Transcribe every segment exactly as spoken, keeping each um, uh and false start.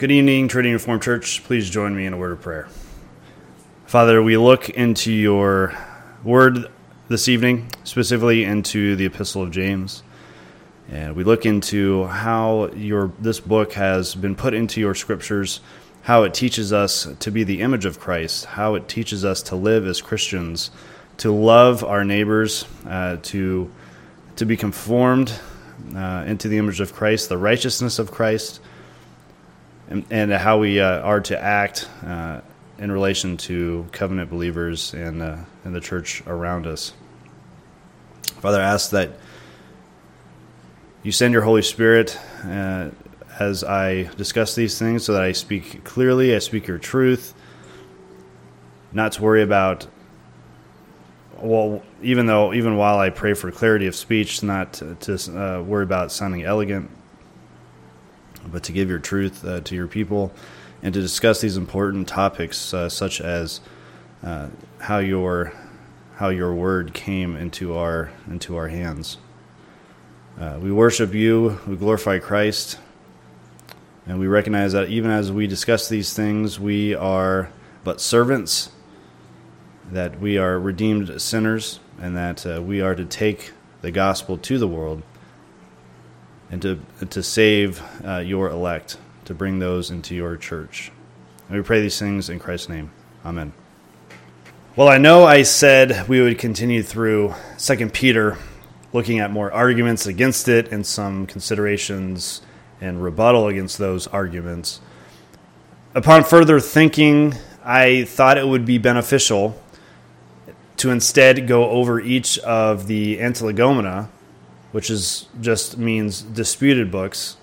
Good evening, Trinity Reformed Church. Please join me in a word of prayer. Father, we look into your word this evening, specifically into the Epistle of James. And we look into how your this book has been put into your scriptures, how it teaches us to be the image of Christ, how it teaches us to live as Christians, to love our neighbors, uh, to, to be conformed uh, into the image of Christ, the righteousness of Christ, and, and how we uh, are to act uh, in relation to covenant believers and, uh, and the church around us. Father, I ask that you send your Holy Spirit uh, as I discuss these things so that I speak clearly, I speak your truth, not to worry about, well, even though, even while I pray for clarity of speech, not to, to uh, worry about sounding elegant, but to give your truth uh, to your people and to discuss these important topics uh, such as uh, how your how your word came into our into our hands. Uh, we worship you, we glorify Christ, and we recognize that even as we discuss these things, we are but servants, that we are redeemed sinners, and that uh, we are to take the gospel to the world and to to save uh, your elect, to bring those into your church. And we pray these things in Christ's name. Amen. Well, I know I said we would continue through Second Peter, looking at more arguments against it and some considerations and rebuttal against those arguments. Upon further thinking, I thought it would be beneficial to instead go over each of the Antilegomena, which is just means disputed books,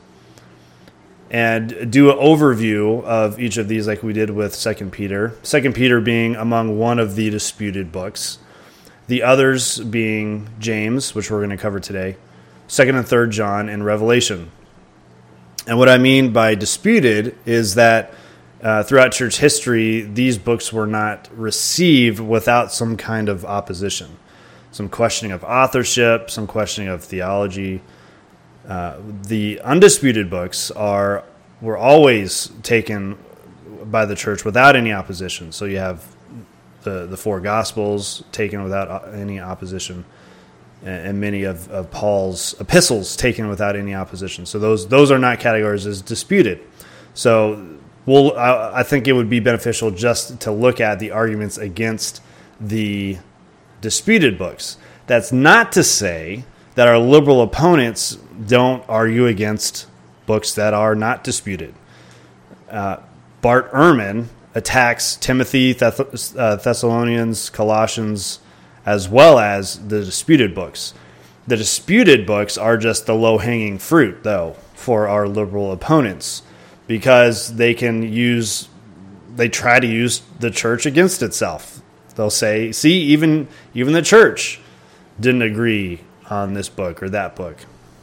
and do an overview of each of these like we did with Second Peter. Second Peter being among one of the disputed books. The others being James, which we're going to cover today, Second and Third John, and Revelation. And what I mean by disputed is that uh, throughout church history, these books were not received without some kind of opposition. Some questioning of authorship, some questioning of theology. Uh, the undisputed books are were always taken by the church without any opposition. So you have the the four Gospels taken without any opposition, and, and many of, of Paul's epistles taken without any opposition. So those those are not categorized as disputed. So we'll I, I think it would be beneficial just to look at the arguments against the disputed books. That's not to say that our liberal opponents don't argue against books that are not disputed. Uh, Bart Ehrman attacks Timothy, Thess- uh, Thessalonians, Colossians, as well as the disputed books. The disputed books are just the low-hanging fruit, though, for our liberal opponents, because they can use, they try to use the church against itself. They'll say, see, even even the church didn't agree on this book or that book.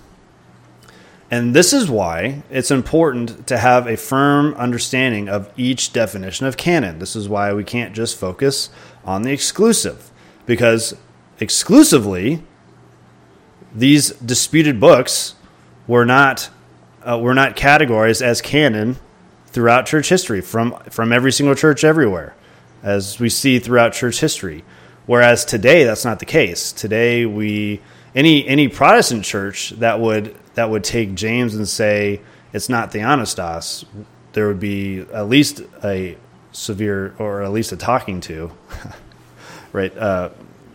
And this is why it's important to have a firm understanding of each definition of canon. This is why we can't just focus on the exclusive, because exclusively, these disputed books were not uh, were not categorized as canon throughout church history from from every single church everywhere, as we see throughout church history. Whereas today, that's not the case. Today, we any any Protestant church that would that would take James and say it's not Theopneustos, there would be at least a severe, or at least a talking to, right? Uh,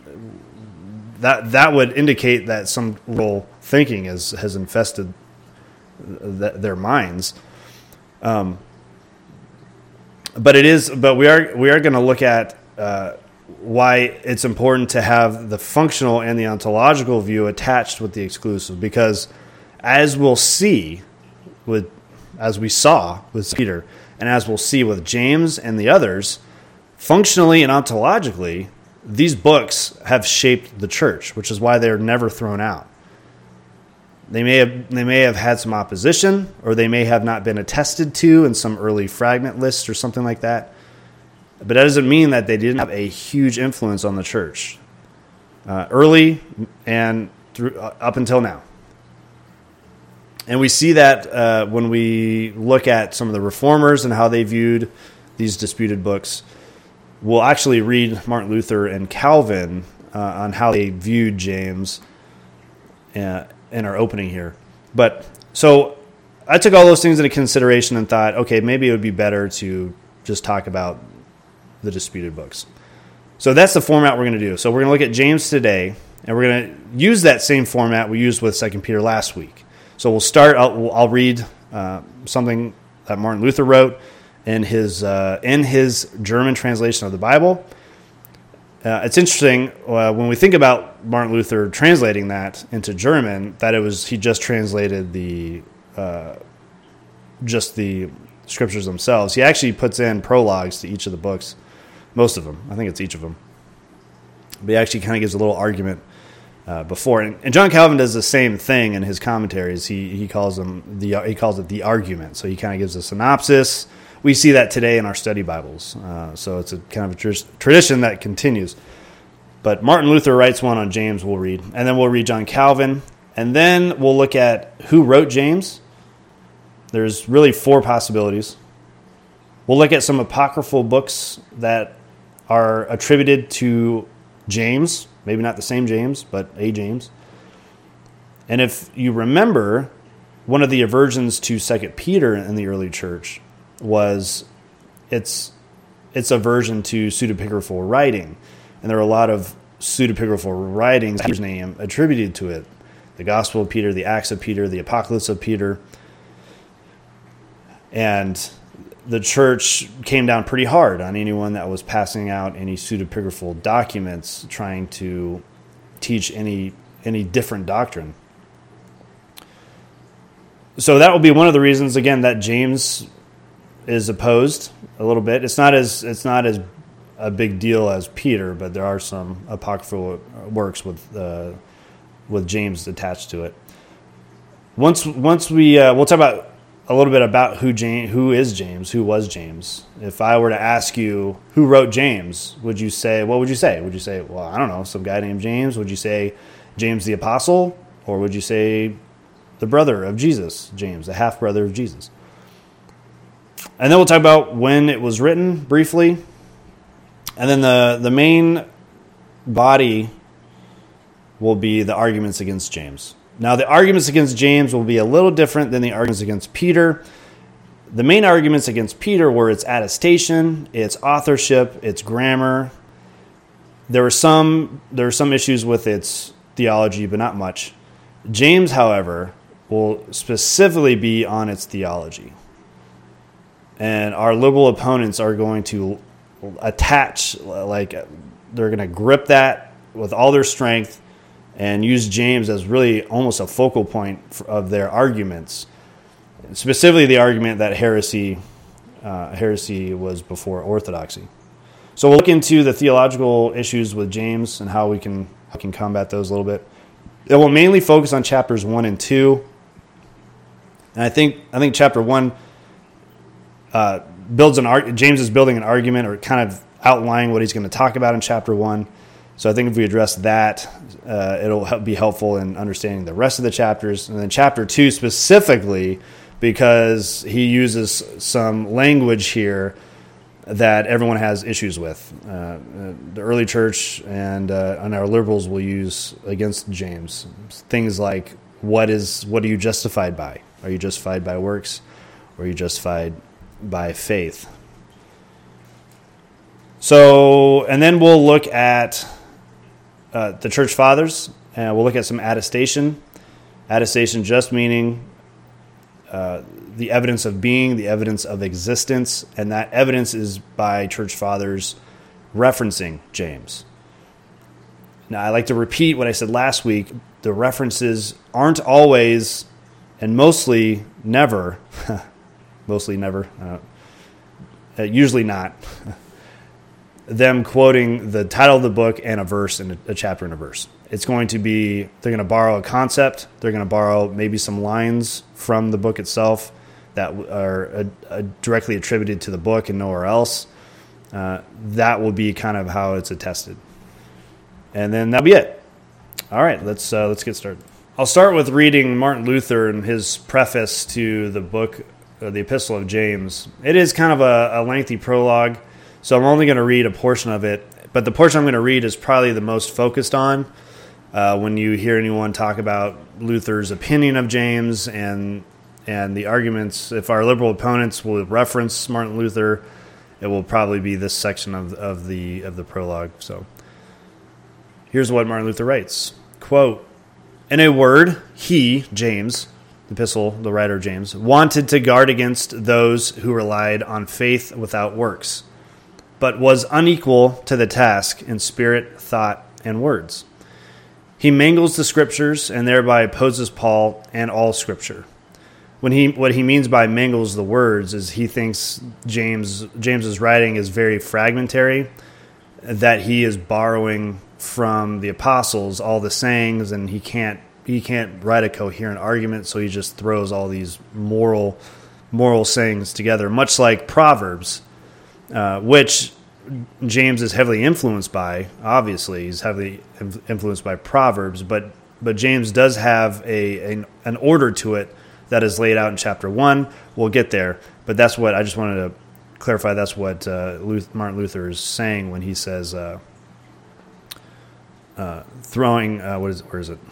that that would indicate that some liberal thinking has has infested th- their minds. Um, but it is. But we are we are going to look at. Uh, why it's important to have the functional and the ontological view attached with the exclusive, because as we'll see with as we saw with Peter, and as we'll see with James and the others, functionally and ontologically, these books have shaped the church, which is why they're never thrown out. They may have they may have had some opposition, or they may have not been attested to in some early fragment lists or something like that. But that doesn't mean that they didn't have a huge influence on the church, uh, early and through, uh, up until now. And we see that uh, when we look at some of the reformers and how they viewed these disputed books. We'll actually read Martin Luther and Calvin uh, on how they viewed James uh, in our opening here. But so I took all those things into consideration and thought, okay, maybe it would be better to just talk about the disputed books. So that's the format we're going to do. So we're going to look at James today, and we're going to use that same format we used with Second Peter last week. So we'll start, I'll, I'll read uh, something that Martin Luther wrote in his uh, in his German translation of the Bible. Uh, it's interesting uh, when we think about Martin Luther translating that into German, that it was he just translated the uh, just the scriptures themselves. He actually puts in prologues to each of the books, most of them. I think it's each of them. But he actually kind of gives a little argument uh, before, and, and John Calvin does the same thing in his commentaries. He he calls them the he calls it the argument. So he kind of gives a synopsis. We see that today in our study Bibles. Uh, so it's a kind of a tr- tradition that continues. But Martin Luther writes one on James we'll read. And then we'll read John Calvin. And then we'll look at who wrote James. There's really four possibilities. We'll look at some apocryphal books that are attributed to James. Maybe not the same James, but a James. And if you remember, one of the aversions to Second Peter in the early church was its its aversion to pseudepigraphal writing. And there are a lot of pseudepigraphal writings, Peter's name, attributed to it. The Gospel of Peter, the Acts of Peter, the Apocalypse of Peter. And the church came down pretty hard on anyone that was passing out any pseudepigraphal documents trying to teach any any different doctrine. So that will be one of the reasons, again, that James is opposed a little bit. It's not as it's not as a big deal as Peter, but there are some apocryphal works with uh, with James attached to it. Once once we uh, we'll talk about a little bit about who James, who is James, who was James. If I were to ask you who wrote James, would you say what would you say? Would you say, well, I don't know, some guy named James? Would you say James the Apostle, or would you say the brother of Jesus, James, the half brother of Jesus? And then we'll talk about when it was written briefly. And then the, the main body will be the arguments against James. Now, the arguments against James will be a little different than the arguments against Peter. The main arguments against Peter were its attestation, its authorship, its grammar. There were some there were some issues with its theology, but not much. James, however, will specifically be on its theology. And our liberal opponents are going to attach, like they're going to grip that with all their strength and use James as really almost a focal point of their arguments. Specifically the argument that heresy uh, heresy was before orthodoxy. So we'll look into the theological issues with James and how we can, how we can combat those a little bit. It will mainly focus on chapters one and two. And I think I think chapter one Uh, builds an arg- James is building an argument or kind of outlining what he's going to talk about in chapter one. So I think if we address that, uh, it'll help be helpful in understanding the rest of the chapters. And then chapter two specifically, because he uses some language here that everyone has issues with. Uh, the early church and uh, and our liberals will use against James things like, what is what are you justified by? Are you justified by works, or are you justified by faith? So, and then we'll look at uh, the church fathers, and we'll look at some attestation. Attestation just meaning uh, the evidence of being, the evidence of existence, and that evidence is by church fathers referencing James. Now, I like to repeat what I said last week. The references aren't always, and mostly never, mostly never, uh, usually not, them quoting the title of the book and a verse and a, a chapter and a verse. It's going to be, they're going to borrow a concept, they're going to borrow maybe some lines from the book itself that are uh, uh, directly attributed to the book and nowhere else. Uh, that will be kind of how it's attested. And then that'll be it. All right, let's uh, let's get started. I'll start with reading Martin Luther and his preface to the book, uh, the Epistle of James. It is kind of a, a lengthy prologue, so I'm only going to read a portion of it. But the portion I'm going to read is probably the most focused on uh, when you hear anyone talk about Luther's opinion of James and and the arguments. If our liberal opponents will reference Martin Luther, it will probably be this section of of the of the prologue. So here's what Martin Luther writes. Quote, "In a word, he, James," the epistle, the writer James, "wanted to guard against those who relied on faith without works, but was unequal to the task in spirit, thought, and words. He mangles the Scriptures and thereby opposes Paul and all Scripture." When he what he means by mangles the words is he thinks James James's writing is very fragmentary, that he is borrowing from the apostles all the sayings, and he can't he can't write a coherent argument, so he just throws all these moral moral sayings together, much like Proverbs, uh, which James is heavily influenced by. Obviously, he's heavily influenced by Proverbs, but but James does have a an, an order to it that is laid out in chapter one. We'll get there, but that's what I just wanted to clarify. That's what uh, Luther, Martin Luther is saying when he says uh, uh, throwing. Uh, what is where is it?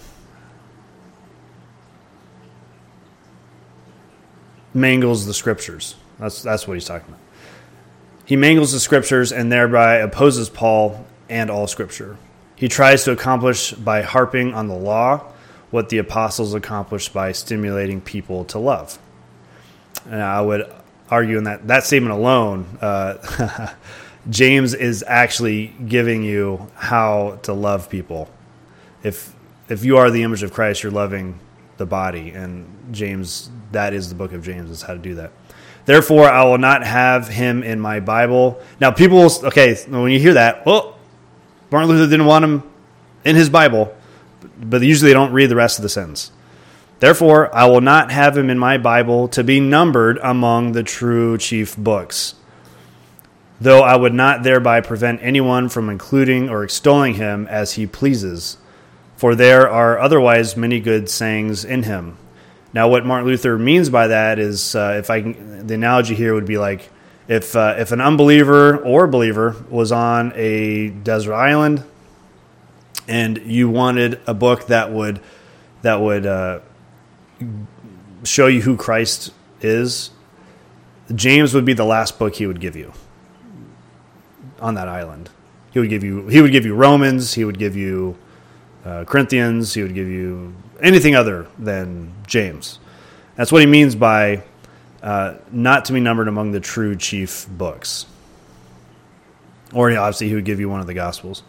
Mangles the Scriptures. That's that's what he's talking about. He mangles the Scriptures and thereby opposes Paul and all Scripture. He tries to accomplish by harping on the law what the apostles accomplished by stimulating people to love. And I would argue in that, that statement alone, uh, James is actually giving you how to love people. If if you are the image of Christ, you're loving the body. And James, that is the book of James, is how to do that. "Therefore, I will not have him in my Bible." Now, people will, okay, when you hear that, well, Martin Luther didn't want him in his Bible, but usually they don't read the rest of the sentence. "Therefore, I will not have him in my Bible to be numbered among the true chief books, though I would not thereby prevent anyone from including or extolling him as he pleases, for there are otherwise many good sayings in him." Now, what Martin Luther means by that is, uh, if I can, the analogy here would be like if uh, if an unbeliever or believer was on a desert island, and you wanted a book that would that would uh, show you who Christ is, James would be the last book he would give you on that island. He would give you he would give you Romans. He would give you uh, Corinthians. He would give you anything other than James. That's what he means by uh, not to be numbered among the true chief books. Or obviously he would give you one of the Gospels.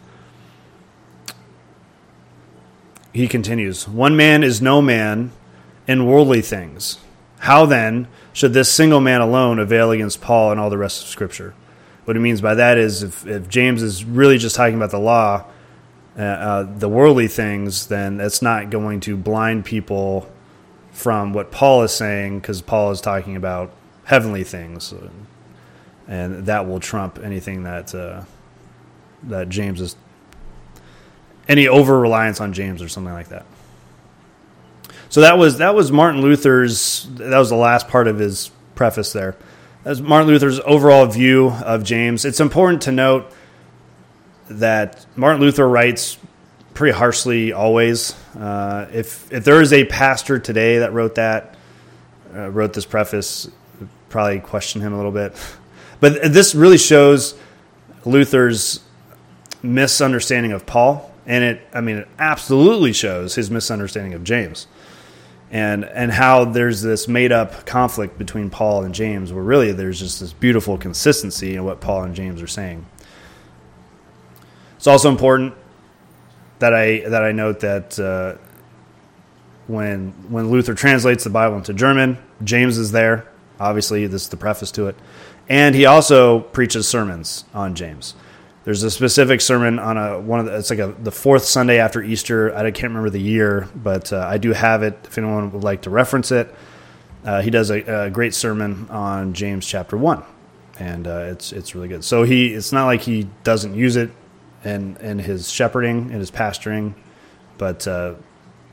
He continues, "One man is no man in worldly things. How then should this single man alone avail against Paul and all the rest of Scripture?" What he means by that is if, if James is really just talking about the law, uh, uh, the worldly things, then it's not going to blind people from what Paul is saying, because Paul is talking about heavenly things, and that will trump anything that uh, that James is any over-reliance on James or something like that. So that was that was Martin Luther's, that was the last part of his preface there. That was Martin Luther's overall view of James. It's important to note that Martin Luther writes pretty harshly always. Uh, if if there is a pastor today that wrote that, uh, wrote this preface, probably question him a little bit. But this really shows Luther's misunderstanding of Paul. And it, I mean, it absolutely shows his misunderstanding of James, and and how there's this made-up conflict between Paul and James, where really there's just this beautiful consistency in what Paul and James are saying. It's also important that I that I note that uh, when when Luther translates the Bible into German, James is there. Obviously, this is the preface to it, and he also preaches sermons on James. There's a specific sermon on a one of the, it's like a, the fourth Sunday after Easter. I can't remember the year, but uh, I do have it if anyone would like to reference it. Uh, he does a, a great sermon on James chapter one, and uh, it's it's really good. So he it's not like he doesn't use it in in his shepherding and his pastoring, but uh,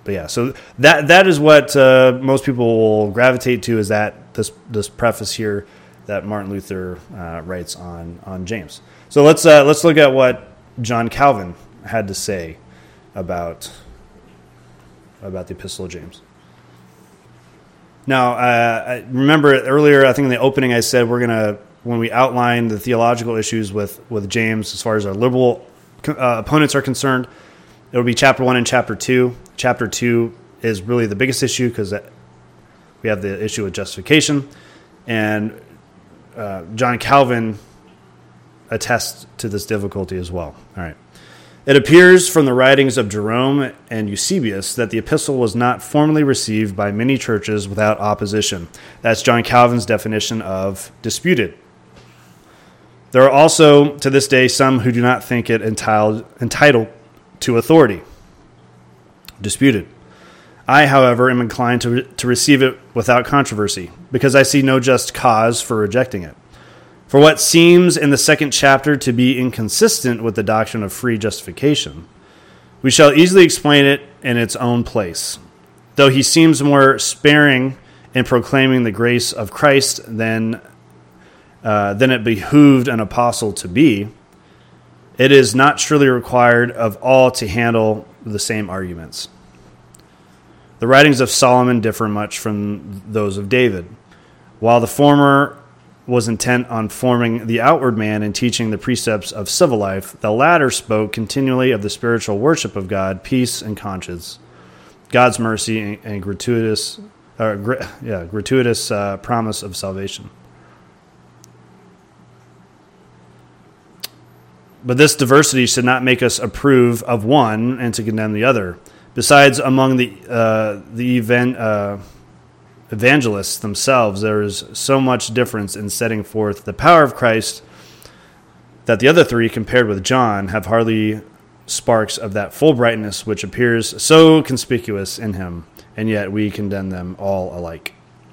but yeah, so that that is what uh, most people will gravitate to, is that this this preface here that Martin Luther uh, writes on on James. So let's uh, let's look at what John Calvin had to say about about the Epistle of James. Now, uh, I remember earlier, I think in the opening, I said we're going to, when we outline the theological issues with, with James, as far as our liberal uh, opponents are concerned, it will be chapter one and chapter two. Chapter two is really the biggest issue because we have the issue with justification, and uh, John Calvin attests to this difficulty as well. All right. It appears from the writings of Jerome and Eusebius that the epistle was not formally received by many churches without opposition. That's John Calvin's definition of disputed. There are also, to this day, some who do not think it entitled, entitled to authority. Disputed. I, however, am inclined to, re- to receive it without controversy, because I see no just cause for rejecting it. For what seems in the second chapter to be inconsistent with the doctrine of free justification, we shall easily explain it in its own place. Though he seems more sparing in proclaiming the grace of Christ than, uh, than it behooved an apostle to be, it is not surely required of all to handle the same arguments. The writings of Solomon differ much from those of David. While the former was intent on forming the outward man and teaching the precepts of civil life, the latter spoke continually of the spiritual worship of God, peace and conscience, God's mercy and, and gratuitous, uh, gra- yeah, gratuitous uh, promise of salvation. But this diversity should not make us approve of one and to condemn the other. Besides, among the uh, the event. Uh, evangelists themselves, there is so much difference in setting forth the power of Christ that the other three, compared with John, have hardly sparks of that full brightness which appears so conspicuous in him, and yet we condemn them all alike.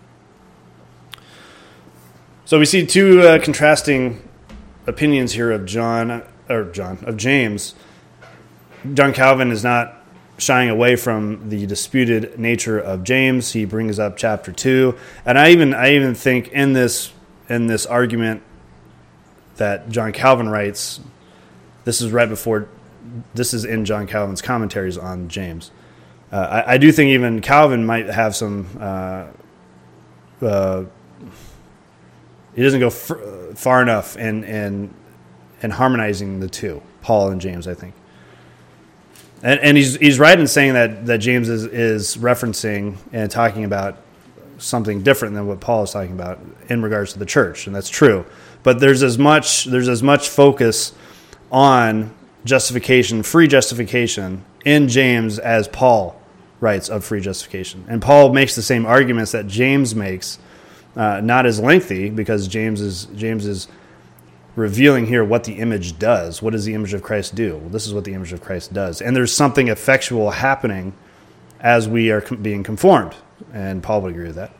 So we see two uh, contrasting opinions here of John, or John, of James. John Calvin is not shying away from the disputed nature of James. He brings up chapter two, and I even I even think in this in this argument that John Calvin writes, this is right before, this is in John Calvin's commentaries on James. Uh, I, I do think even Calvin might have some. Uh, uh, he doesn't go f- far enough in in in harmonizing the two, Paul and James, I think. And, and he's he's right in saying that, that James is, is referencing and talking about something different than what Paul is talking about in regards to the church, and that's true. But there's as much there's as much focus on justification, free justification, in James as Paul writes of free justification. And Paul makes the same arguments that James makes, uh, not as lengthy, because James is James is revealing here what the image does. What does the image of Christ do? Well, this is what the image of Christ does. And there's something effectual happening as we are being conformed. And Paul would agree with that.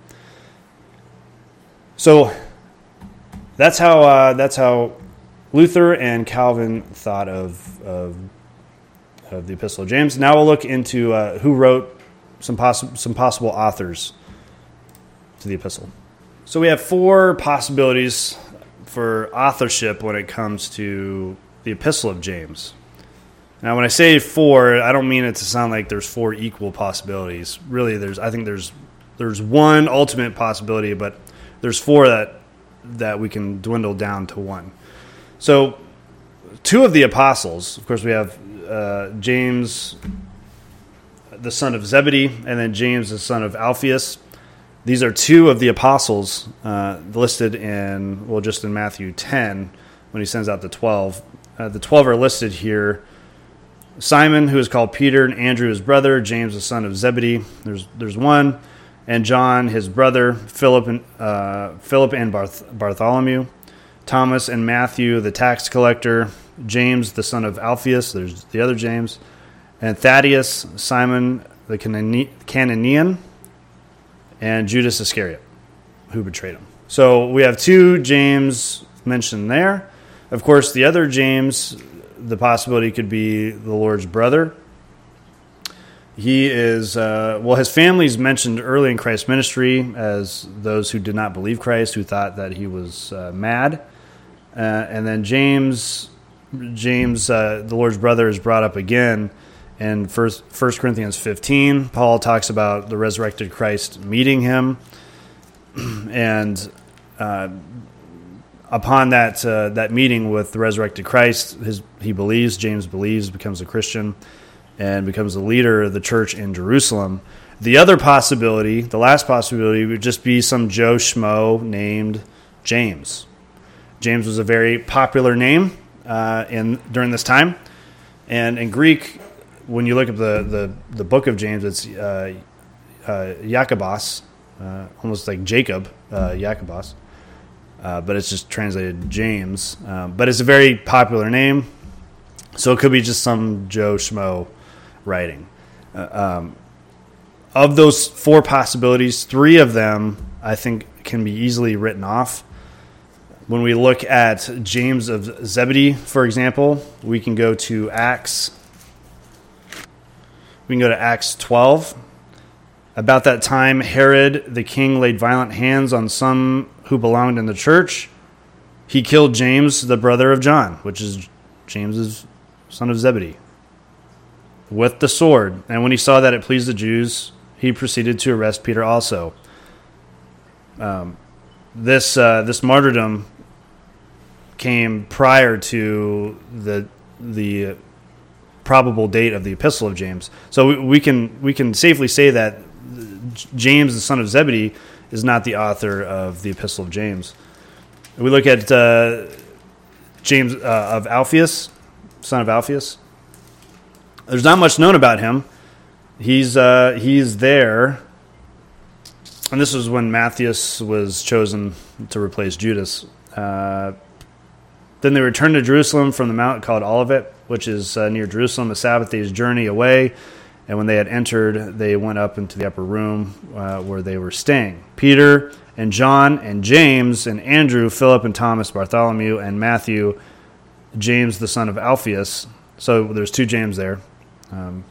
So that's how uh, that's how Luther and Calvin thought of, of, of the Epistle of James. Now we'll look into uh, who wrote some, poss- some possible authors to the epistle. So we have four possibilities for authorship when it comes to the Epistle of James. Now, when I say four, I don't mean it to sound like there's four equal possibilities. Really, there's I think there's there's one ultimate possibility, but there's four that that we can dwindle down to one. So, two of the apostles, of course, we have uh, James, the son of Zebedee, and then James, the son of Alphaeus. These are two of the apostles uh, listed in, well, just in Matthew ten, when he sends out the twelve. Uh, the twelve are listed here. Simon, who is called Peter, and Andrew, his brother, James, the son of Zebedee. There's there's one. And John, his brother, Philip and, uh, Philip and Barth- Bartholomew. Thomas and Matthew, the tax collector. James, the son of Alphaeus. There's the other James. And Thaddeus, Simon, the Canane- Cananean. And Judas Iscariot, who betrayed him. So we have two James mentioned there. Of course, the other James, the possibility could be the Lord's brother. He is, uh, well, his family is mentioned early in Christ's ministry as those who did not believe Christ, who thought that he was uh, mad. Uh, and then James, James, uh, the Lord's brother, is brought up again in First Corinthians fifteen. Paul talks about the resurrected Christ meeting him. And uh, upon that uh, that meeting with the resurrected Christ, his, he believes, James believes, becomes a Christian, and becomes the leader of the church in Jerusalem. The other possibility, the last possibility, would just be some Joe Schmo named James. James was a very popular name uh, in during this time. And in Greek, when you look at the, the, the book of James, it's uh, uh, Jacobos, uh, almost like Jacob, uh, Jacobos. Uh, but it's just translated James. Uh, but it's a very popular name, so it could be just some Joe Schmo writing. Uh, um, of those four possibilities, three of them I think can be easily written off. When we look at James of Zebedee, for example, we can go to Acts. We can go to Acts twelve. About that time, Herod the king laid violent hands on some who belonged in the church. He killed James, the brother of John, which is James's son of Zebedee, with the sword. And when he saw that it pleased the Jews, he proceeded to arrest Peter also. Um, this uh, this martyrdom came prior to the the probable date of the Epistle of James. So we, we can we can safely say that James, the son of Zebedee, is not the author of the Epistle of James. We look at uh, James uh, of Alphaeus, son of Alphaeus. There's not much known about him. He's uh, he's there, and this was when Matthias was chosen to replace Judas. Uh, then they returned to Jerusalem from the mount called Olivet, which is uh, near Jerusalem, a Sabbath day's journey away. And when they had entered, they went up into the upper room uh, where they were staying. Peter and John and James and Andrew, Philip and Thomas, Bartholomew and Matthew, James the son of Alphaeus. So there's two James there. Um,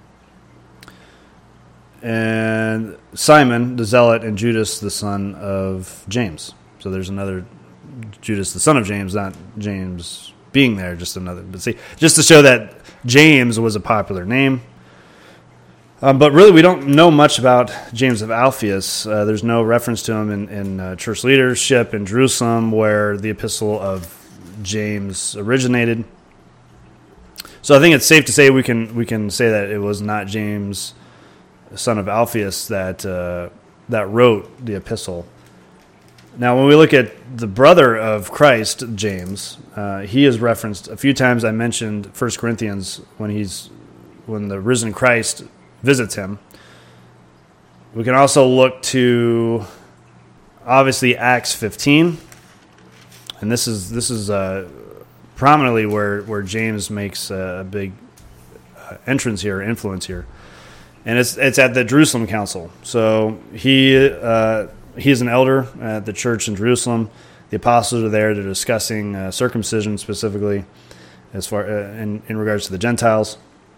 and Simon the Zealot and Judas the son of James. So there's another Judas the son of James, not James being there, just another. But see, just to show that James was a popular name. Um, but really, we don't know much about James of Alphaeus. Uh, there's no reference to him in, in uh, church leadership in Jerusalem, where the Epistle of James originated. So I think it's safe to say we can we can say that it was not James, son of Alphaeus, that uh, that wrote the epistle. Now, when we look at the brother of Christ, James, uh, he is referenced a few times. I mentioned First Corinthians when he's when the risen Christ visits him. We can also look to, obviously, Acts fifteen, and this is this is uh, prominently where where James makes a big uh, entrance here, influence here, and it's it's at the Jerusalem Council. So he uh, he is an elder at the church in Jerusalem. The apostles are there; they're discussing uh, circumcision specifically, as far uh, in in regards to the Gentiles.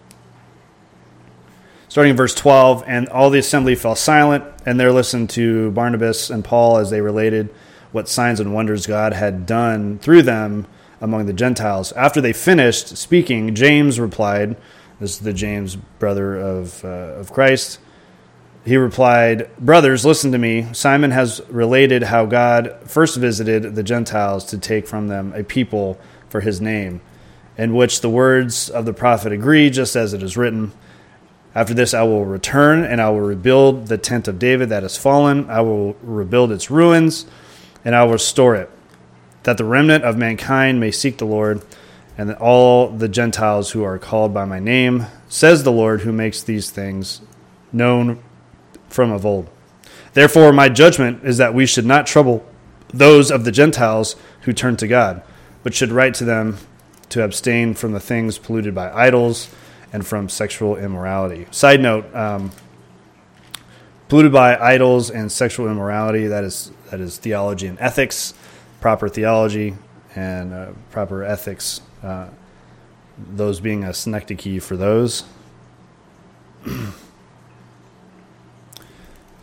Starting in verse twelve, and all the assembly fell silent, and there listened to Barnabas and Paul as they related what signs and wonders God had done through them among the Gentiles. After they finished speaking, James replied, this is the James, brother of, uh, of Christ. He replied, "Brothers, listen to me. Simon has related how God first visited the Gentiles to take from them a people for his name, in which the words of the prophet agree, just as it is written, after this I will return, and I will rebuild the tent of David that has fallen. I will rebuild its ruins, and I will restore it, that the remnant of mankind may seek the Lord, and that all the Gentiles who are called by my name, says the Lord, who makes these things known from of old. Therefore my judgment is that we should not trouble those of the Gentiles who turn to God, but should write to them to abstain from the things polluted by idols, and from sexual immorality." Side note, um, polluted by idols and sexual immorality, that is that is theology and ethics, proper theology and uh, proper ethics, uh, those being a synecdoche for those.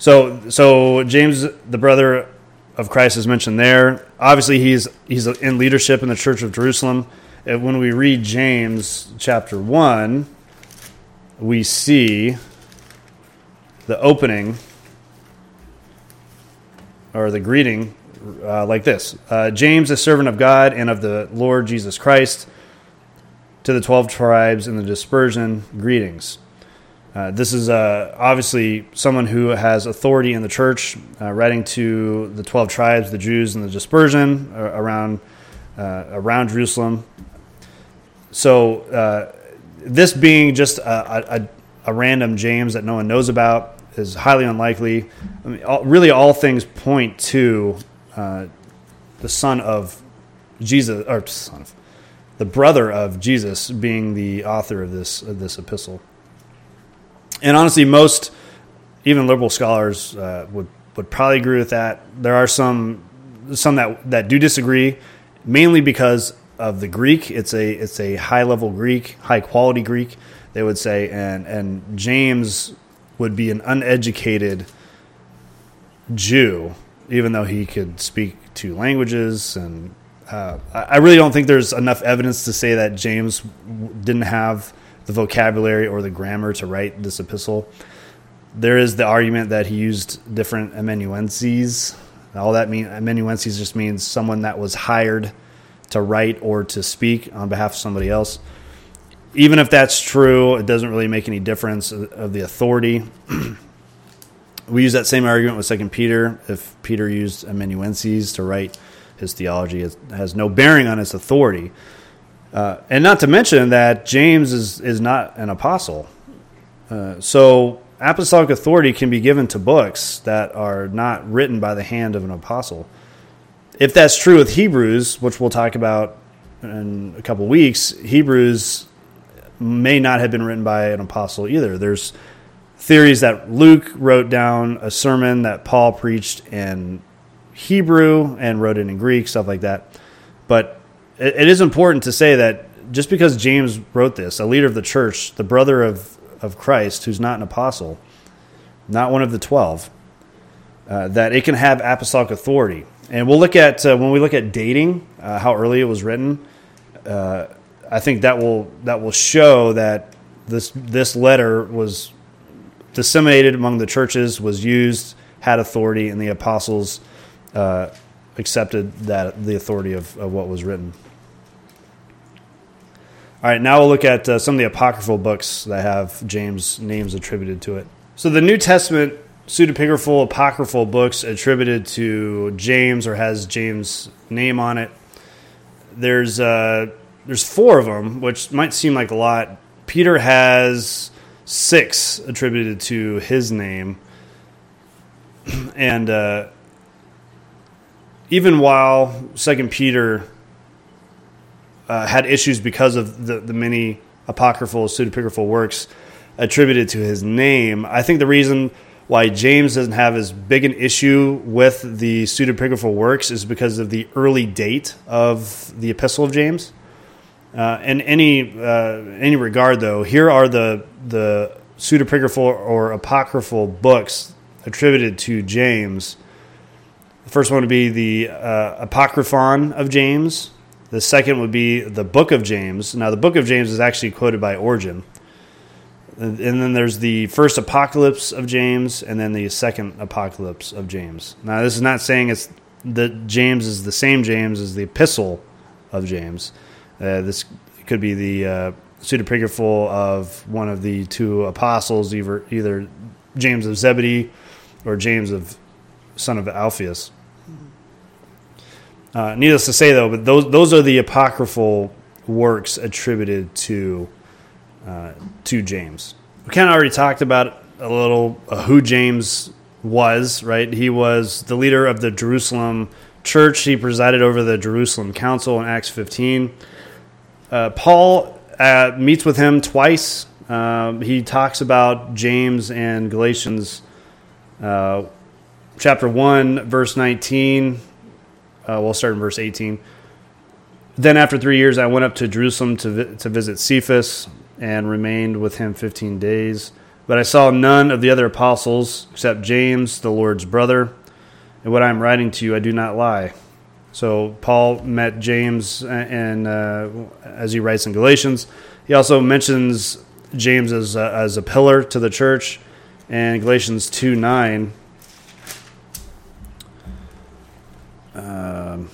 So, so James, the brother of Christ, is mentioned there. Obviously, he's he's in leadership in the Church of Jerusalem. And when we read James chapter one, we see the opening or the greeting uh, like this: uh, James, a servant of God and of the Lord Jesus Christ, to the twelve tribes in the dispersion, greetings. Uh, this is uh, obviously someone who has authority in the church, uh, writing to the twelve tribes, the Jews in the dispersion uh, around uh, around Jerusalem. So uh, this being just a, a, a random James that no one knows about is highly unlikely. I mean, all, really, all things point to uh, the son of Jesus, or son of the brother of Jesus, being the author of this of this epistle. And honestly, most, even liberal scholars uh, would would probably agree with that. There are some some that, that do disagree, mainly because of the Greek. It's a it's a high level Greek, high quality Greek, they would say, and and James would be an uneducated Jew, even though he could speak two languages. And uh, I really don't think there's enough evidence to say that James didn't have the vocabulary or the grammar to write this epistle. There is the argument that he used different amanuenses. All that mean amanuenses just means someone that was hired to write or to speak on behalf of somebody else. Even if that's true, it doesn't really make any difference of the authority. We use that same argument with Second Peter. If Peter used amanuenses to write his theology, it has no bearing on its authority. Uh, and not to mention that James is, is not an apostle. Uh, so apostolic authority can be given to books that are not written by the hand of an apostle. If that's true with Hebrews, which we'll talk about in a couple weeks, Hebrews may not have been written by an apostle either. There's theories that Luke wrote down a sermon that Paul preached in Hebrew and wrote it in Greek, stuff like that. But it is important to say that just because James wrote this, a leader of the church, the brother of, of Christ, who's not an apostle, not one of the twelve, uh, that it can have apostolic authority. And we'll look at, uh, when we look at dating, uh, how early it was written, uh, I think that will that will show that this this letter was disseminated among the churches, was used, had authority, and the apostles uh, accepted that the authority of, of what was written. All right, now we'll look at uh, some of the apocryphal books that have James' names attributed to it. So the New Testament pseudepigraphal apocryphal books attributed to James or has James' name on it. There's uh, there's four of them, which might seem like a lot. Peter has six attributed to his name, and uh, even while Second Peter Uh, had issues because of the, the many apocryphal, pseudepigraphal works attributed to his name. I think the reason why James doesn't have as big an issue with the pseudepigraphal works is because of the early date of the Epistle of James. Uh, in any uh, any regard, though, here are the the pseudepigraphal or apocryphal books attributed to James. The first one would be the uh, Apocryphon of James. The second would be the Book of James. Now, the Book of James is actually quoted by Origen. And then there's the first Apocalypse of James, and then the second Apocalypse of James. Now, this is not saying it's that James is the same James as the Epistle of James. Uh, this could be the uh, pseudepigraphal of one of the two apostles, either, either James of Zebedee or James of son of Alphaeus. Uh, needless to say, though, but those those are the apocryphal works attributed to uh, to James. We kind of already talked about a little uh, who James was, right? He was the leader of the Jerusalem church. He presided over the Jerusalem Council in Acts fifteen. Uh, Paul uh, meets with him twice. Um, he talks about James in Galatians uh, chapter one, verse nineteen. Uh, we'll start in verse eighteen. Then after three years, I went up to Jerusalem to vi- to visit Cephas and remained with him fifteen days. But I saw none of the other apostles except James, the Lord's brother. And what I am writing to you, I do not lie. So Paul met James, and uh, as he writes in Galatians, he also mentions James as a, as a pillar to the church. And Galatians two nine. Um,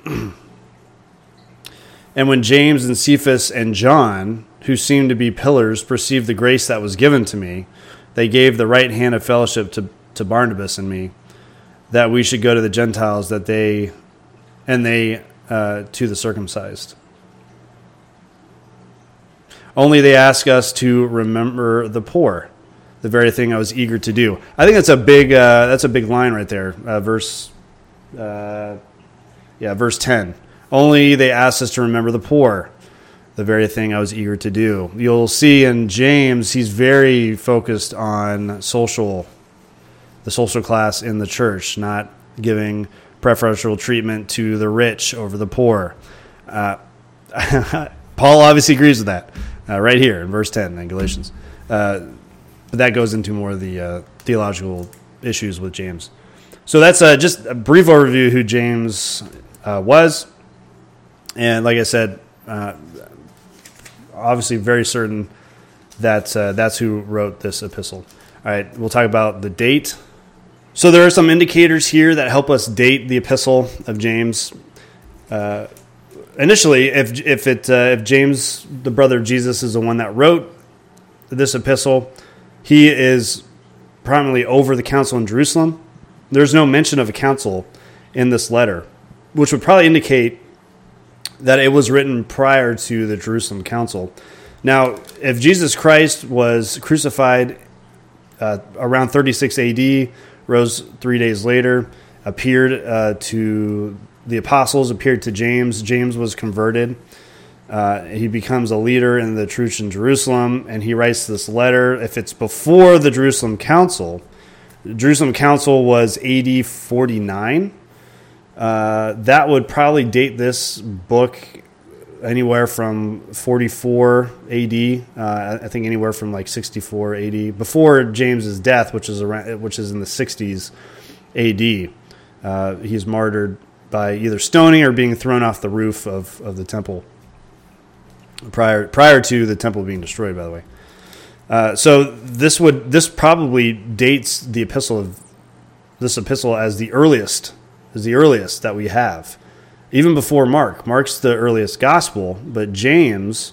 and when James and Cephas and John, who seemed to be pillars, perceived the grace that was given to me, they gave the right hand of fellowship to, to Barnabas and me, that we should go to the Gentiles, that they and they uh, to the circumcised. Only they ask us to remember the poor, the very thing I was eager to do. I think that's a big uh, that's a big line right there. Uh, verse, uh, yeah, verse ten. Only they ask us to remember the poor, the very thing I was eager to do. You'll see in James, he's very focused on social, the social class in the church, not giving preferential treatment to the rich over the poor. Uh, Paul obviously agrees with that uh, right here in verse ten in Galatians. Uh, but that goes into more of the uh, theological issues with James. So that's uh, just a brief overview of who James uh, was. And like I said, uh, obviously very certain that uh, that's who wrote this epistle. All right, we'll talk about the date. So there are some indicators here that help us date the epistle of James. Uh, initially, if if it uh, if James, the brother of Jesus, is the one that wrote this epistle, he is prominently over the council in Jerusalem. There's no mention of a council in this letter, which would probably indicate that it was written prior to the Jerusalem council. Now, if Jesus Christ was crucified uh, around thirty-six A D, rose three days later, appeared uh, to the apostles, appeared to James. James was converted. Uh, he becomes a leader in the church in Jerusalem, and he writes this letter. If it's before the Jerusalem Council, the Jerusalem Council was A D forty-nine. Uh, that would probably date this book anywhere from forty-four A D. Uh, I think anywhere from like sixty-four A D, before James's death, which is around, which is in the sixties A D. Uh, he's martyred by either stoning or being thrown off the roof of, of the temple. Prior prior to the temple being destroyed, by the way. Uh, so this would this probably dates the epistle of this epistle as the earliest, as the earliest that we have, even before Mark. Mark's the earliest gospel, but James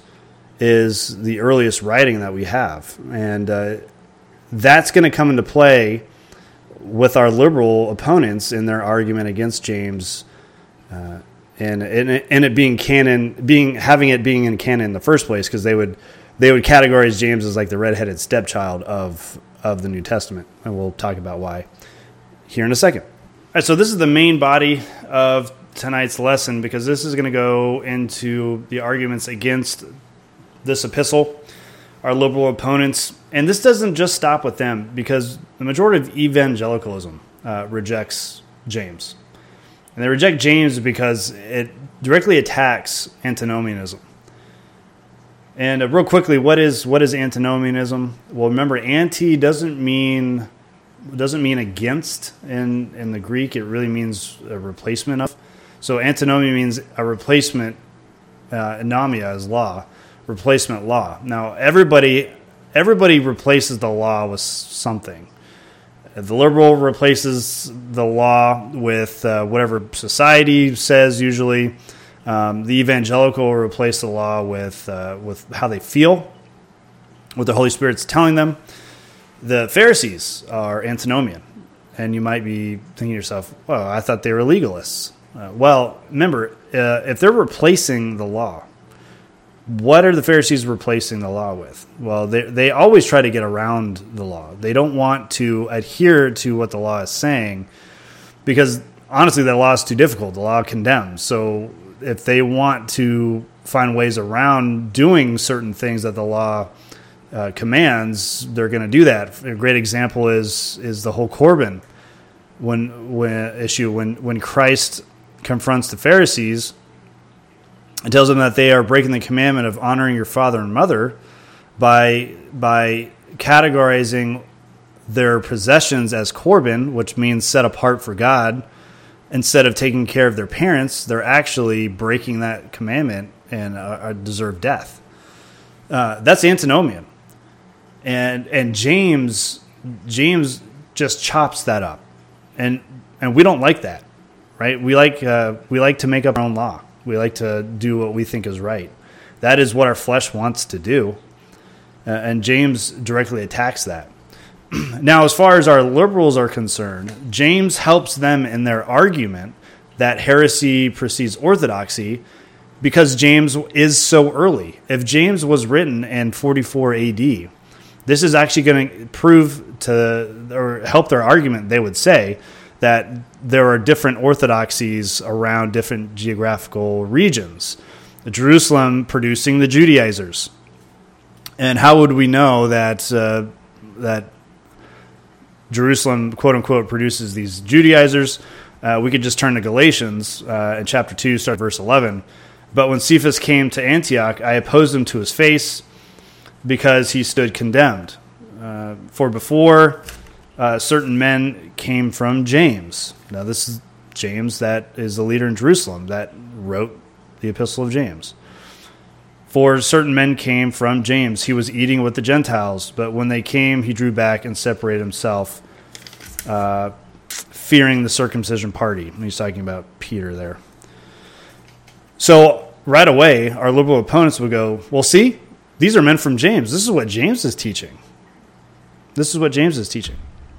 is the earliest writing that we have, and uh, that's going to come into play with our liberal opponents in their argument against James. Uh, And, and it, and it being canon, being having it being in canon in the first place, because they would they would categorize James as like the redheaded stepchild of of the New Testament, and we'll talk about why here in a second. All right, so this is the main body of tonight's lesson, because this is going to go into the arguments against this epistle, our liberal opponents, and this doesn't just stop with them, because the majority of evangelicalism uh, rejects James. And they reject James because it directly attacks antinomianism. And uh, real quickly, what is what is antinomianism? Well, remember, anti doesn't mean doesn't mean against in in the Greek. It really means a replacement of. So antinomia means a replacement. Uh, anomia is law, replacement law. Now everybody everybody replaces the law with something. The liberal replaces the law with uh, whatever society says usually. Um, the evangelical will replace the law with uh, with how they feel, what the Holy Spirit's telling them. The Pharisees are antinomian. And you might be thinking to yourself, well, I thought they were legalists. Uh, well, remember, uh, if they're replacing the law, what are the Pharisees replacing the law with? Well, they they always try to get around the law. They don't want to adhere to what the law is saying because, honestly, the law is too difficult. The law condemns. So if they want to find ways around doing certain things that the law uh, commands, they're going to do that. A great example is is the whole Corban when, when issue. When, when Christ confronts the Pharisees, it tells them that they are breaking the commandment of honoring your father and mother by by categorizing their possessions as Corban, which means set apart for God, instead of taking care of their parents, they're actually breaking that commandment and uh, deserve death. Uh, that's antinomian. And and James James just chops that up. And and we don't like that, right? We like uh, we like to make up our own law. We like to do what we think is right. That is what our flesh wants to do. Uh, and James directly attacks that. Now, as far as our liberals are concerned, James helps them in their argument that heresy precedes orthodoxy because James is so early. If James was written in forty-four A D, this is actually going to prove to or help their argument, they would say, that there are different orthodoxies around different geographical regions. Jerusalem producing the Judaizers. And how would we know that uh, that Jerusalem, quote unquote, produces these Judaizers? Uh, we could just turn to Galatians uh, in chapter two, start verse eleven. But when Cephas came to Antioch, I opposed him to his face because he stood condemned. Uh, for before uh, certain men came from James. Now this is James that is the leader in Jerusalem that wrote the Epistle of James. For certain men came from James. He was eating with the Gentiles, but when they came, he drew back and separated himself, uh, fearing the circumcision party. And he's talking about Peter there. So right away, our liberal opponents would go, well, see, these are men from James. This is what James is teaching. This is what James is teaching.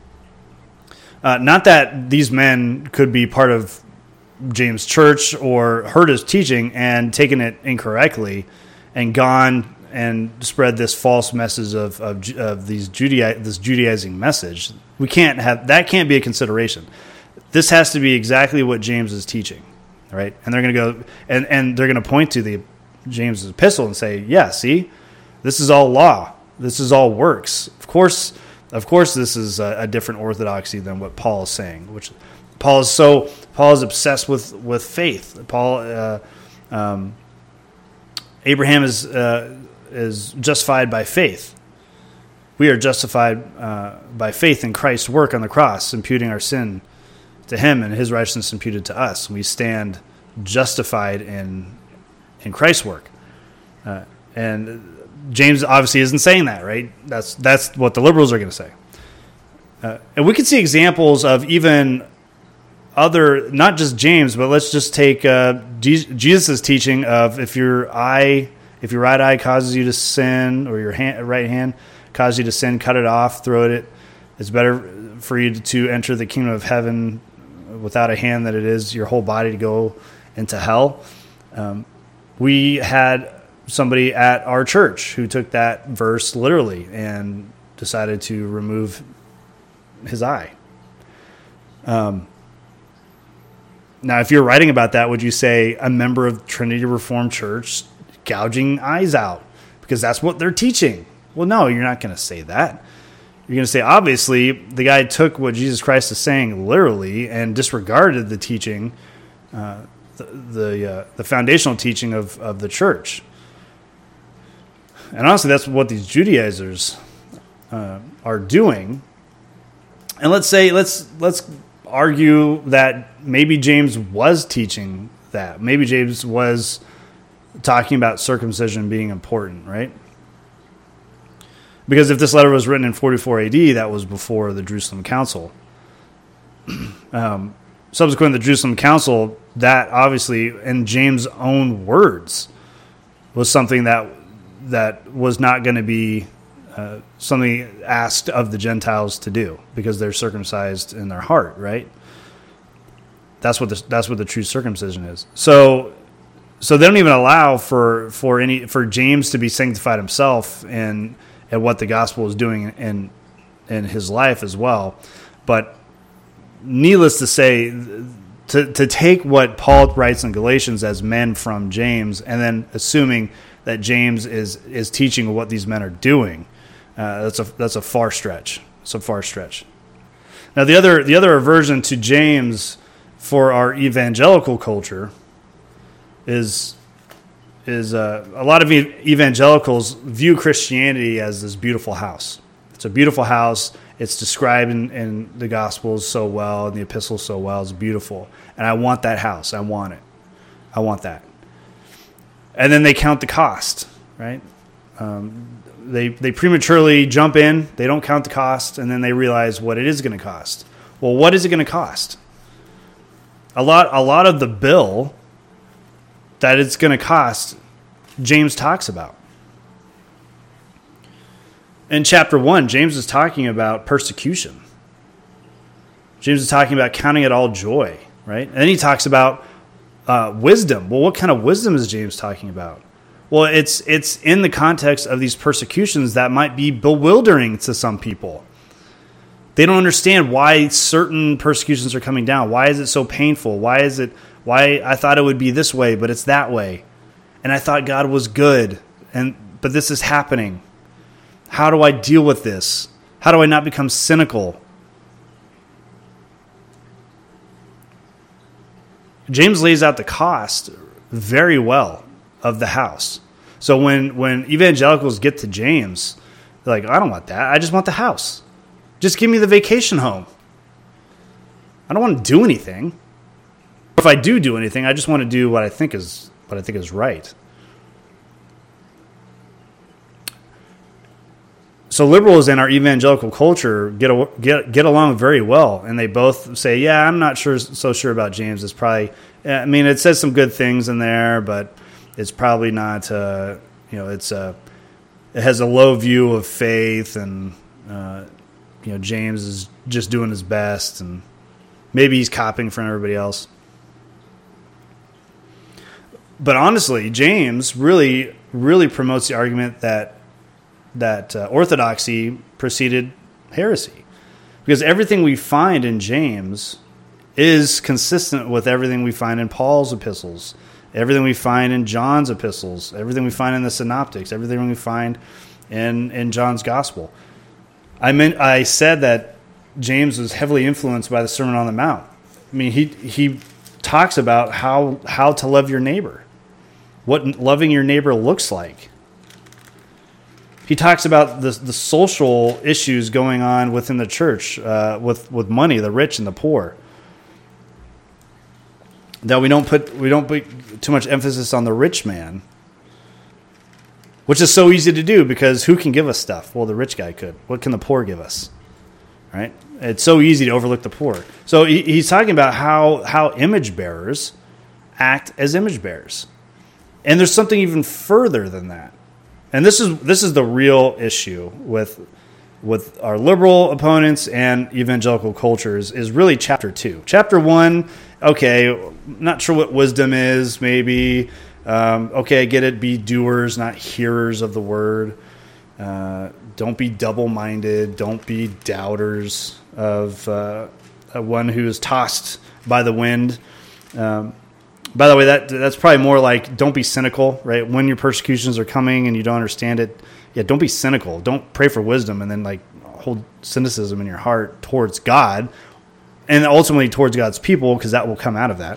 Uh, not that these men could be part of James' church or heard his teaching and taken it incorrectly and gone and spread this false message of of, of these Judai- this Judaizing message. We can't have that. Can't be a consideration. This has to be exactly what James is teaching, right? And they're going to go and, and they're going to point to the James' epistle and say, "Yeah, see, this is all law. This is all works. Of course, of course, this is a, a different orthodoxy than what Paul is saying. Which Paul is so Paul is obsessed with with faith. Paul." Uh, um, Abraham is uh, is justified by faith. We are justified uh, by faith in Christ's work on the cross, imputing our sin to him and his righteousness imputed to us. We stand justified in in Christ's work. Uh, and James obviously isn't saying that, right? That's that's what the liberals are going to say. Uh, and we can see examples of even other, not just James, but let's just take uh, Jesus' teaching of if your eye, if your right eye causes you to sin, or your hand, right hand causes you to sin, cut it off, throw it. It's better for you to enter the kingdom of heaven without a hand than it is your whole body to go into hell. Um, we had somebody at our church who took that verse literally and decided to remove his eye. Um. Now, if you're writing about that, would you say a member of Trinity Reformed Church gouging eyes out? Because that's what they're teaching. Well, no, you're not going to say that. You're going to say, obviously, the guy took what Jesus Christ is saying literally and disregarded the teaching, uh, the the, uh, the foundational teaching of, of the church. And honestly, that's what these Judaizers uh, are doing. And let's say, let's let's... argue that maybe James was teaching that. Maybe James was talking about circumcision being important, right? Because if this letter was written in forty-four A D, that was before the Jerusalem Council. um, subsequent to the Jerusalem Council, that obviously, in James' own words, was something that that was not going to be Uh, something asked of the Gentiles to do because they're circumcised in their heart, right? That's what the, that's what the true circumcision is. So, so they don't even allow for for any for James to be sanctified himself and and what the gospel is doing in in his life as well. But needless to say, to to take what Paul writes in Galatians as men from James and then assuming that James is is teaching what these men are doing. Uh, that's a that's a far stretch. It's a far stretch. Now the other the other aversion to James for our evangelical culture is is uh, a lot of evangelicals view Christianity as this beautiful house. It's a beautiful house. It's described in, in the Gospels so well, and the epistles so well. It's beautiful. And I want that house. I want it. I want that. And then they count the cost, right? Um, they they prematurely jump in. They don't count the cost, and then they realize what it is going to cost. Well, what is it going to cost? A lot, a lot of the bill that it's going to cost, James talks about. In chapter one, James is talking about persecution. James is talking about counting it all joy, right? And then he talks about uh, wisdom. Well, what kind of wisdom is James talking about? Well, it's it's in the context of these persecutions that might be bewildering to some people. They don't understand why certain persecutions are coming down. Why is it so painful? Why is it? Why I thought it would be this way, but it's that way, and I thought God was good, and but this is happening. How do I deal with this? How do I not become cynical? James lays out the cost very well of the house. So when, when evangelicals get to James, they're like, I don't want that. I just want the house. Just give me the vacation home. I don't want to do anything. If I do do anything, I just want to do what I think is what I think is right. So liberals in our evangelical culture get a, get get along very well, and they both say, "Yeah, I'm not sure so sure about James. It's probably, I mean, it says some good things in there, but it's probably not. Uh, you know, it's a it has a low view of faith, and uh, you know, James is just doing his best, and maybe he's copying from everybody else." But honestly, James really really promotes the argument that. that uh, orthodoxy preceded heresy. Because everything we find in James is consistent with everything we find in Paul's epistles, everything we find in John's epistles, everything we find in the Synoptics, everything we find in, in John's gospel. I mean, I said that James was heavily influenced by the Sermon on the Mount. I mean, he he talks about how how to love your neighbor, what loving your neighbor looks like. He talks about the the social issues going on within the church uh, with with money, the rich and the poor. That we don't put we don't put too much emphasis on the rich man, which is so easy to do because who can give us stuff? Well, the rich guy could. What can the poor give us? Right? It's so easy to overlook the poor. So he, he's talking about how how image bearers act as image bearers, and there's something even further than that. And this is this is the real issue with with our liberal opponents and evangelical cultures is really chapter two. Chapter one, okay, not sure what wisdom is, maybe. Um, okay, I get it, be doers, not hearers of the word. Uh, don't be double-minded. Don't be doubters of uh, one who is tossed by the wind. Um By the way, that that's probably more like don't be cynical, right? When your persecutions are coming and you don't understand it, yeah, don't be cynical. Don't pray for wisdom and then like hold cynicism in your heart towards God and ultimately towards God's people because that will come out of that.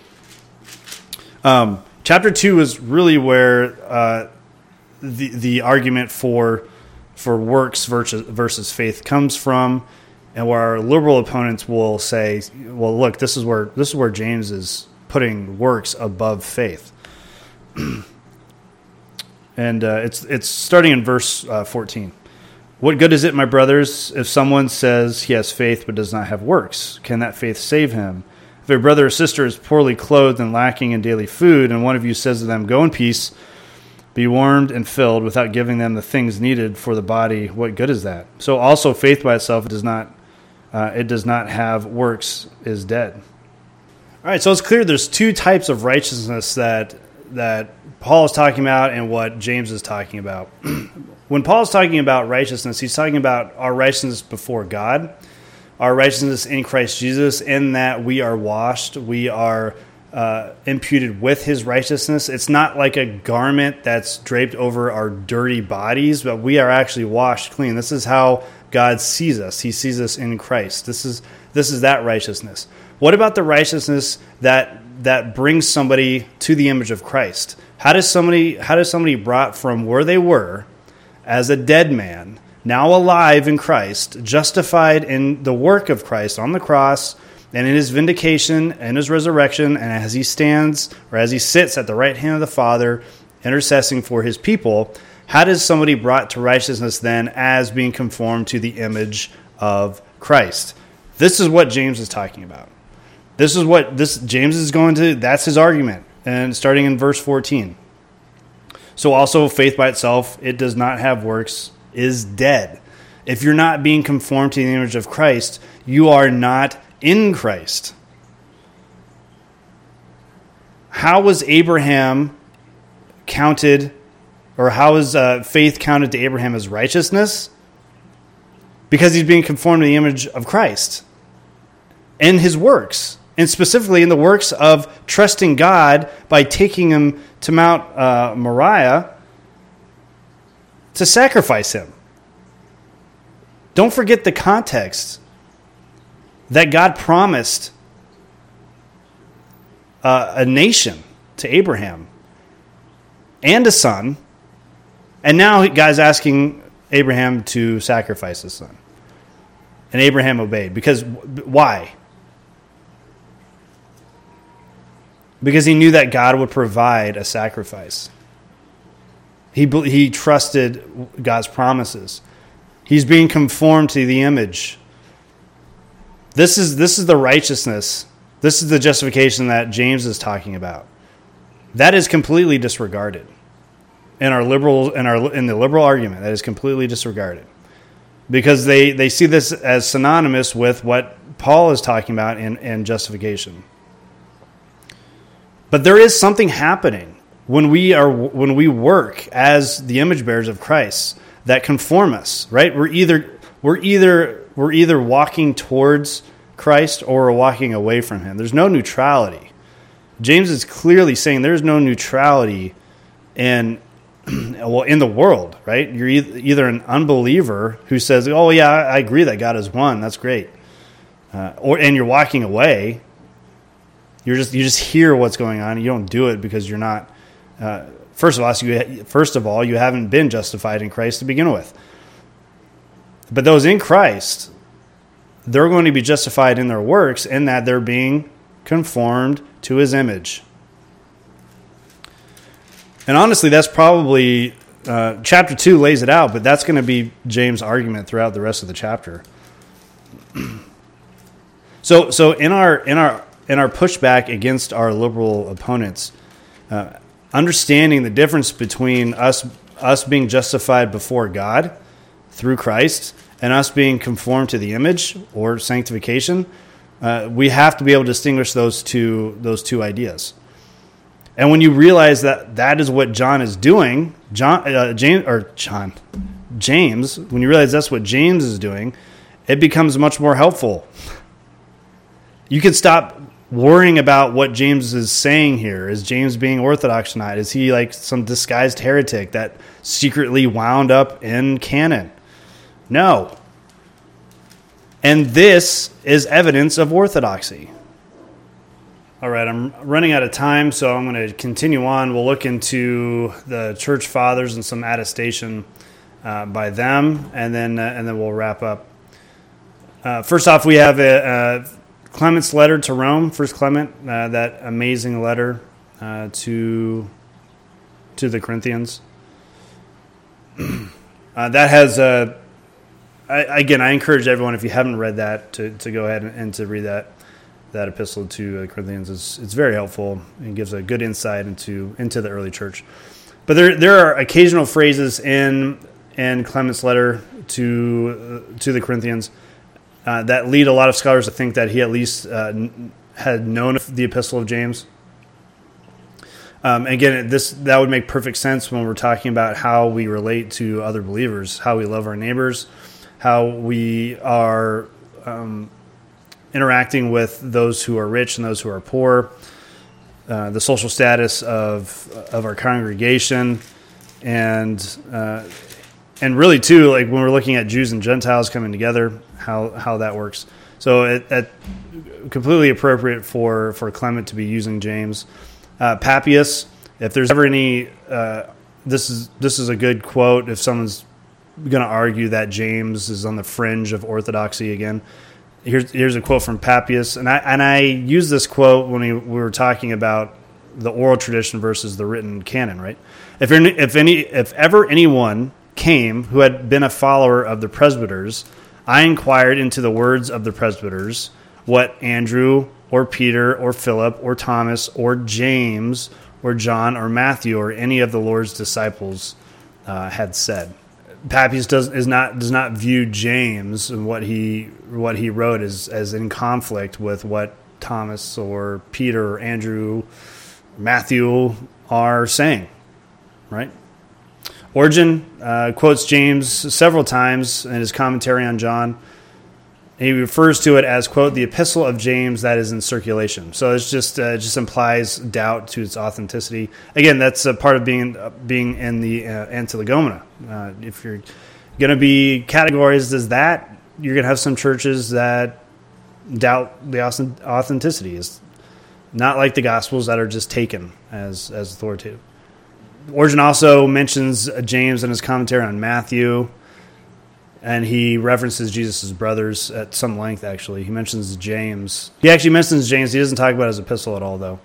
Um, chapter two is really where uh, the the argument for for works versus versus faith comes from, and where our liberal opponents will say, "Well, look, this is where this is where James is." Putting works above faith, and uh, it's it's starting in verse uh, fourteen. What good is it, my brothers, if someone says he has faith but does not have works? Can that faith save him? If a brother or sister is poorly clothed and lacking in daily food, and one of you says to them, "Go in peace, be warmed and filled," without giving them the things needed for the body, what good is that? So also faith by itself does not uh, it does not have works is dead. All right, so it's clear there's two types of righteousness that that Paul is talking about and what James is talking about. When Paul is talking about righteousness, he's talking about our righteousness before God, our righteousness in Christ Jesus, in that we are washed, we are uh, imputed with his righteousness. It's not like a garment that's draped over our dirty bodies, but we are actually washed clean. This is how God sees us. He sees us in Christ. This is this is that righteousness. What about the righteousness that that brings somebody to the image of Christ? How does somebody how does somebody brought from where they were as a dead man now alive in Christ, justified in the work of Christ on the cross, and in his vindication and his resurrection, and as he stands or as he sits at the right hand of the Father, intercessing for his people, how does somebody brought to righteousness then as being conformed to the image of Christ? This is what James is talking about. This is what this James is going to, that's his argument. And starting in verse fourteen. So also faith by itself, it does not have works, is dead. If you're not being conformed to the image of Christ, you are not in Christ. How was Abraham counted, or how is uh, faith counted to Abraham as righteousness? Because he's being conformed to the image of Christ and his works, and specifically in the works of trusting God by taking him to Mount uh, Moriah to sacrifice him. Don't forget the context that God promised uh, a nation to Abraham and a son, and now God's asking Abraham to sacrifice his son. And Abraham obeyed. Because why? Because he knew that God would provide a sacrifice. He he trusted God's promises. He's being conformed to the image. This is this is the righteousness. This is the justification that James is talking about. That is completely disregarded in our liberal in our in the liberal argument. That is completely disregarded because they, they see this as synonymous with what Paul is talking about in, in justification. But there is something happening when we are when we work as the image bearers of Christ that conform us, right? We're either we're either we're either walking towards Christ or we're walking away from him. There's no neutrality. James is clearly saying there's no neutrality in well in the world, right? You're either an unbeliever who says, "Oh yeah, I agree that God is one. That's great," uh, or and you're walking away. You're just you just hear what's going on. You don't do it because you're not. Uh, first of all, you first of all you haven't been justified in Christ to begin with. But those in Christ, they're going to be justified in their works, in that they're being conformed to his image. And honestly, that's probably uh, chapter two lays it out, but that's going to be James' argument throughout the rest of the chapter. so, so in our in our in our pushback against our liberal opponents, uh, understanding the difference between us us being justified before God through Christ and us being conformed to the image or sanctification, uh, we have to be able to distinguish those two those two ideas. And when you realize that that is what John is doing, John uh, James or John James, when you realize that's what James is doing, it becomes much more helpful. You can stop worrying about what James is saying here. Is James being orthodox or not? Is he like some disguised heretic that secretly wound up in canon? No. And this is evidence of orthodoxy. All right, I'm running out of time, so I'm going to continue on. We'll look into the church fathers and some attestation uh, by them, and then uh, and then we'll wrap up. Uh, first off, we have a, uh, Clement's letter to Rome, First Clement, uh, that amazing letter uh, to to the Corinthians. uh, that has a. I, again, I encourage everyone, if you haven't read that, to, to go ahead and, and to read that that epistle to the Corinthians. It's, it's very helpful and gives a good insight into into the early church. But there there are occasional phrases in in Clement's letter to uh, to the Corinthians uh, that lead a lot of scholars to think that he at least uh, had known the epistle of James. Um, again, this that would make perfect sense when we're talking about how we relate to other believers, how we love our neighbors, how we are um, interacting with those who are rich and those who are poor, uh, the social status of of our congregation, and uh, and really too, like when we're looking at Jews and Gentiles coming together, how how that works. So it, it completely appropriate for for Clement to be using James. Uh, Papias, if there's ever any, uh, this is this is a good quote if someone's going to argue that James is on the fringe of orthodoxy again. Here's here's a quote from Papias, and I and I used this quote when we, we were talking about the oral tradition versus the written canon, right? If any, if any if ever anyone came who had been a follower of the presbyters, I inquired into the words of the presbyters, what Andrew or Peter or Philip or Thomas or James or John or Matthew or any of the Lord's disciples uh, had said. Papias does is not does not view James and what he what he wrote as as in conflict with what Thomas or Peter or Andrew, or Matthew are saying, right? Origen uh, quotes James several times in his commentary on John. He refers to it as, quote, the epistle of James that is in circulation. So it's just uh, it just implies doubt to its authenticity. Again, that's a part of being uh, being in the uh, Antilegomena. Uh, if you're going to be categorized as that, you're going to have some churches that doubt the authenticity. It's not like the Gospels that are just taken as, as authoritative. Origen also mentions James in his commentary on Matthew, and he references Jesus' brothers at some length, actually. He mentions James. He actually mentions James. He doesn't talk about his epistle at all, though.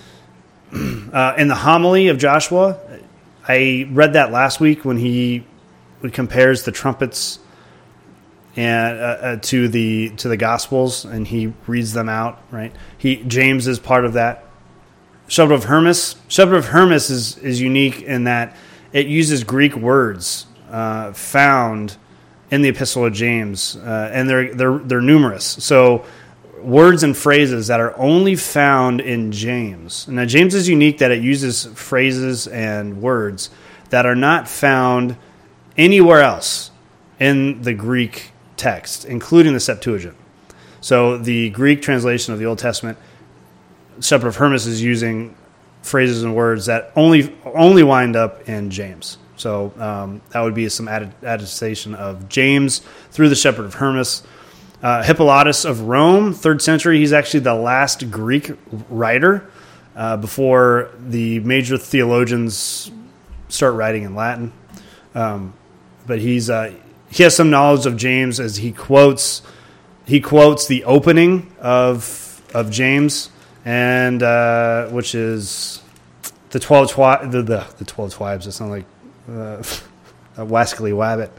Uh, in the homily of Joshua, I read that last week when he compares the trumpets and uh, uh, to the to the Gospels, and he reads them out, right? He James is part of that. Shepherd of Hermas. Shepherd of Hermas is, is unique in that it uses Greek words uh, found in the Epistle of James, uh, and they're they're they're numerous. So words and phrases that are only found in James. Now James is unique that it uses phrases and words that are not found anywhere else in the Greek text, including the Septuagint. So the Greek translation of the Old Testament, Shepherd of Hermas is using phrases and words that only only wind up in James. So um, that would be some attestation of James through the Shepherd of Hermas. Uh, Hippolytus of Rome, third century, he's actually the last Greek writer uh, before the major theologians start writing in Latin. Um, but he's uh, he has some knowledge of James as he quotes he quotes the opening of of James. And uh, which is the twelve twi- the, the the twelve tribes. It sounds like uh, a wascally wabbit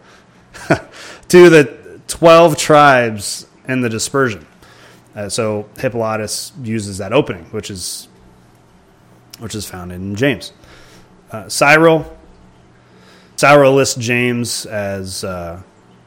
to the twelve tribes and the dispersion. Uh, so Hippolytus uses that opening, which is which is found in James. Uh, Cyril Cyril lists James as uh,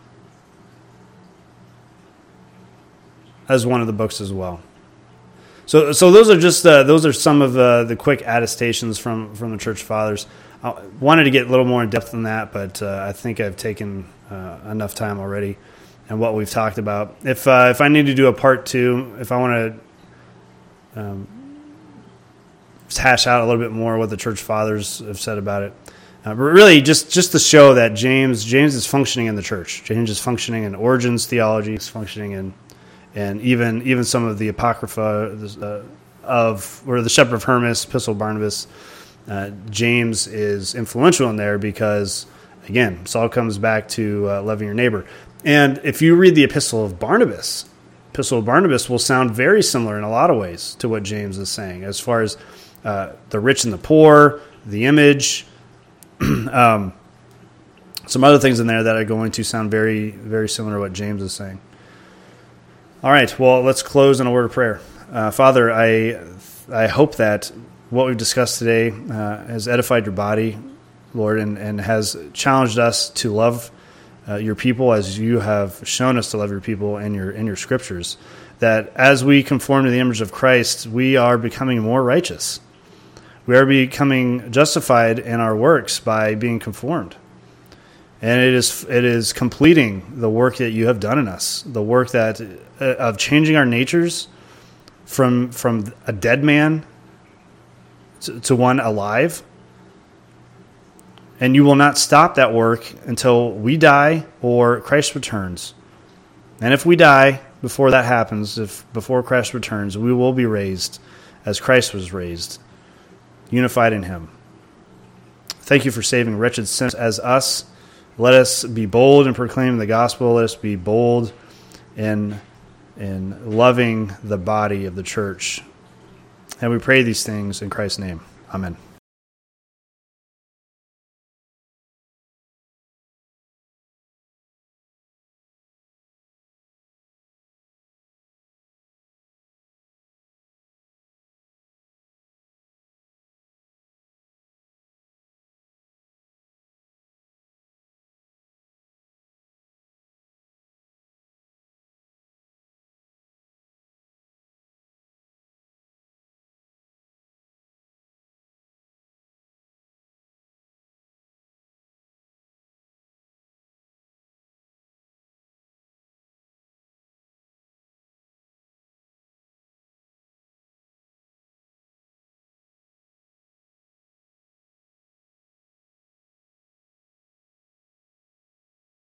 as one of the books as well. So, so those are just uh, those are some of uh, the quick attestations from, from the Church Fathers. I wanted to get a little more in depth than that, but uh, I think I've taken uh, enough time already and what we've talked about. If uh, if I need to do a part two, if I want to um, hash out a little bit more what the Church Fathers have said about it, uh, but really just, just to show that James James is functioning in the church. James is functioning in Origen's theology. He's functioning in And even even some of the Apocrypha uh, of, or the Shepherd of Hermas, Epistle of Barnabas, uh, James is influential in there because, again, this all comes back to uh, loving your neighbor. And if you read the Epistle of Barnabas, Epistle of Barnabas will sound very similar in a lot of ways to what James is saying, as far as uh, the rich and the poor, the image, um, some other things in there that are going to sound very, very similar to what James is saying. All right, well, let's close in a word of prayer. Uh, Father, I I hope that what we've discussed today uh, has edified your body, Lord, and, and has challenged us to love uh, your people as you have shown us to love your people in your in your scriptures. That as we conform to the image of Christ, we are becoming more righteous. We are becoming justified in our works by being conformed. And it is it is completing the work that you have done in us, the work that uh, of changing our natures from from a dead man to, to one alive. And you will not stop that work until we die or Christ returns. And if we die before that happens, if before Christ returns, we will be raised as Christ was raised, unified in him. Thank you for saving wretched sinners as us, let us be bold in proclaiming the gospel. Let us be bold in, in loving the body of the church. And we pray these things in Christ's name. Amen.